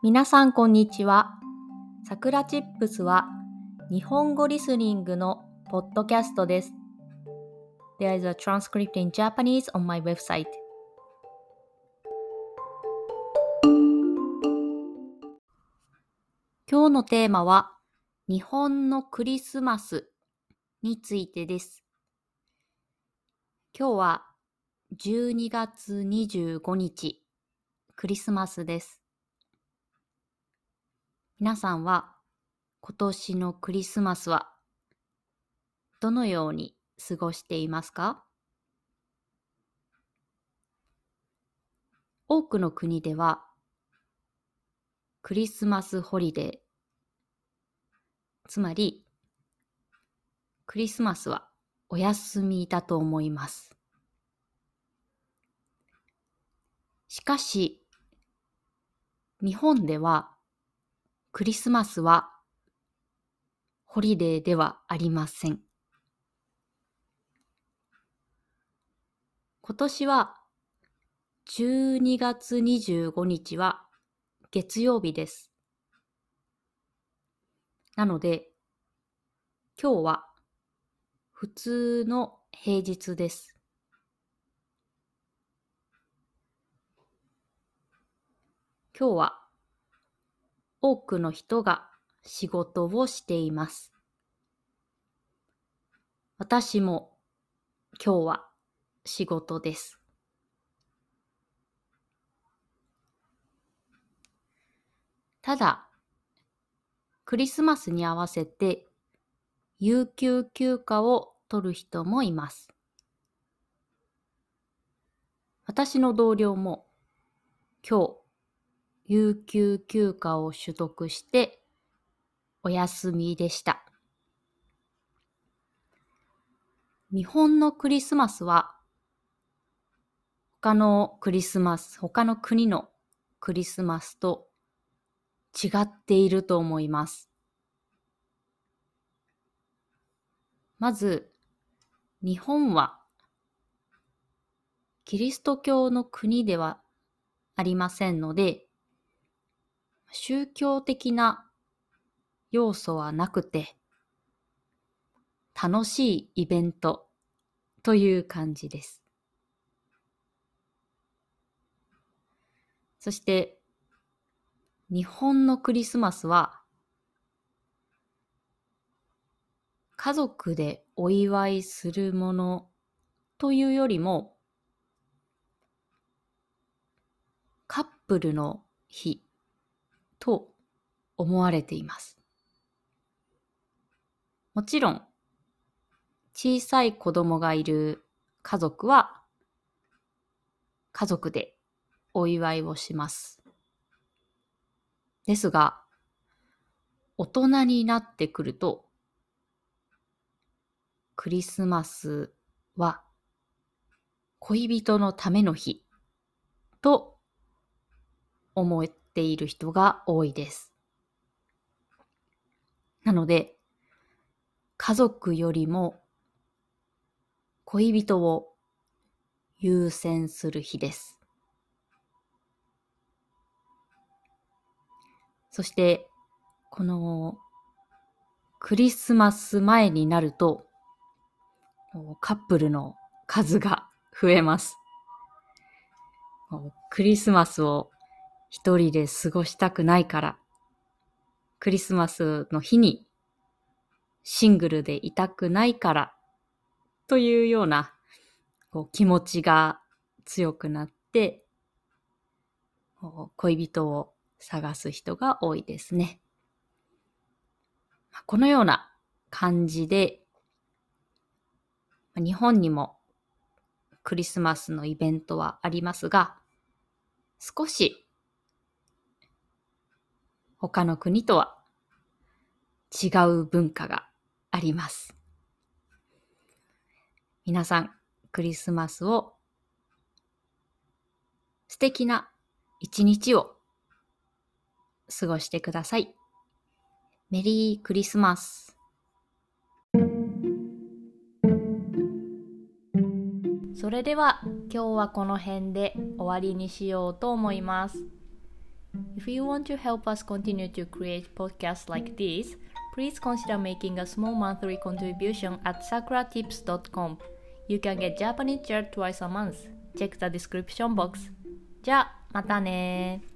皆さんこんにちは。さくらチップスは日本語リスニングのポッドキャストです。There is a transcript in Japanese on my website. 今日のテーマは日本のクリスマスについてです。今日は12月25日、クリスマスです。皆さんは今年のクリスマスはどのように過ごしていますか？多くの国ではクリスマスホリデー、つまりクリスマスはお休みだと思います。しかし、日本ではクリスマスはホリデーではありません。今年は12月25日は月曜日です。なので、今日は普通の平日です。今日は多くの人が仕事をしています。私も今日は仕事です。ただ、クリスマスに合わせて有給休暇を取る人もいます。私の同僚も今日、有給休暇を取得してお休みでした。日本のクリスマスは他の国のクリスマスと違っていると思います。まず、日本はキリスト教の国ではありませんので、宗教的な要素はなくて、楽しいイベントという感じです。そして、日本のクリスマスは、家族でお祝いするものというよりも、カップルの日と思われています。もちろん、小さい子供がいる家族は、家族でお祝いをします。ですが、大人になってくると、クリスマスは恋人のための日と思っている人が多いです。なので、家族よりも恋人を優先する日です。そして、このクリスマス前になると、カップルの数が増えます。クリスマスを一人で過ごしたくないから、クリスマスの日にシングルでいたくないからというような気持ちが強くなって恋人を探す人が多いですね。このような感じで日本にもクリスマスのイベントはありますが、少し他の国とは違う文化があります。皆さん、クリスマスを素敵な一日を過ごしてください。メリークリスマス。それでは今日はこの辺で終わりにしようと思います。 If you want to help us continue to create podcasts like this, please consider making a small monthly contribution at sakuratips.com. You can get Japanese chair twice a month. Check the description box. じゃあ、またね